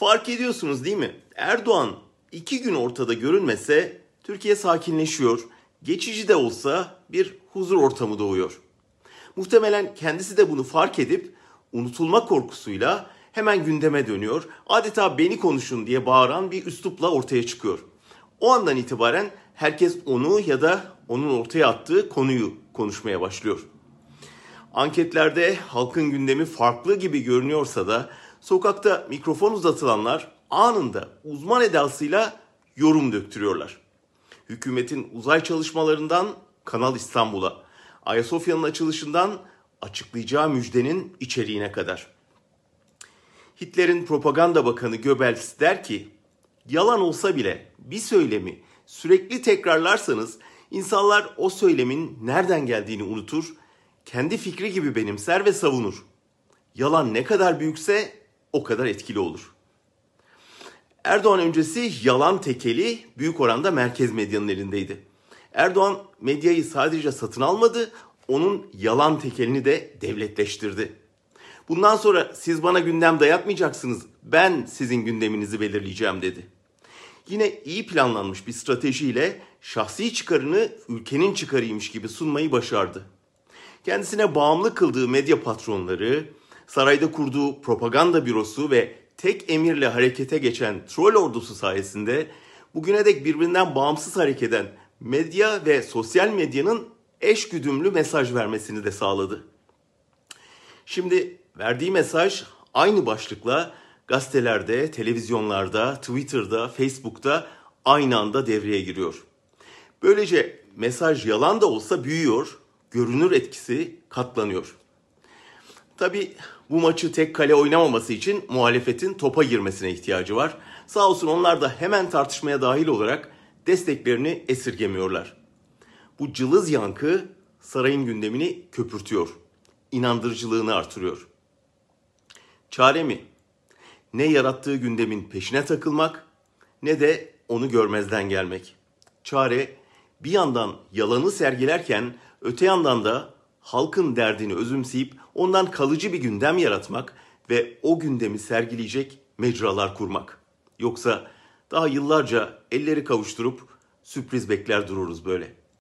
Fark ediyorsunuz değil mi? Erdoğan 2 gün ortada görünmese Türkiye sakinleşiyor. Geçici de olsa bir huzur ortamı doğuyor. Muhtemelen kendisi de bunu fark edip unutulma korkusuyla hemen gündeme dönüyor. Adeta beni konuşun diye bağıran bir üslupla ortaya çıkıyor. O andan itibaren herkes onu ya da onun ortaya attığı konuyu konuşmaya başlıyor. Anketlerde halkın gündemi farklı gibi görünüyorsa da sokakta mikrofon uzatılanlar anında uzman edasıyla yorum döktürüyorlar. Hükümetin uzay çalışmalarından Kanal İstanbul'a, Ayasofya'nın açılışından açıklayacağı müjdenin içeriğine kadar. Hitler'in propaganda bakanı Goebbels der ki, yalan olsa bile bir söylemi sürekli tekrarlarsanız insanlar o söylemin nereden geldiğini unutur, kendi fikri gibi benimser ve savunur. Yalan ne kadar büyükse o kadar etkili olur. Erdoğan öncesi yalan tekeli büyük oranda merkez medyanın elindeydi. Erdoğan medyayı sadece satın almadı, onun yalan tekelini de devletleştirdi. Bundan sonra siz bana gündem dayatmayacaksınız, ben sizin gündeminizi belirleyeceğim dedi. Yine iyi planlanmış bir stratejiyle şahsi çıkarını ülkenin çıkarıymış gibi sunmayı başardı. Kendisine bağımlı kıldığı medya patronları, sarayda kurduğu propaganda bürosu ve tek emirle harekete geçen troll ordusu sayesinde bugüne dek birbirinden bağımsız hareket eden medya ve sosyal medyanın eşgüdümlü mesaj vermesini de sağladı. Şimdi verdiği mesaj aynı başlıkla gazetelerde, televizyonlarda, Twitter'da, Facebook'ta aynı anda devreye giriyor. Böylece mesaj yalan da olsa büyüyor, görünür etkisi katlanıyor. Tabii bu maçı tek kale oynamaması için muhalefetin topa girmesine ihtiyacı var. Sağ olsun onlar da hemen tartışmaya dahil olarak desteklerini esirgemiyorlar. Bu cılız yankı sarayın gündemini köpürtüyor, inandırıcılığını artırıyor. Çare mi? Ne yarattığı gündemin peşine takılmak ne de onu görmezden gelmek. Çare bir yandan yalanı sergilerken öte yandan da halkın derdini özümseyip ondan kalıcı bir gündem yaratmak ve o gündemi sergileyecek mecralar kurmak. Yoksa daha yıllarca elleri kavuşturup sürpriz bekler dururuz böyle.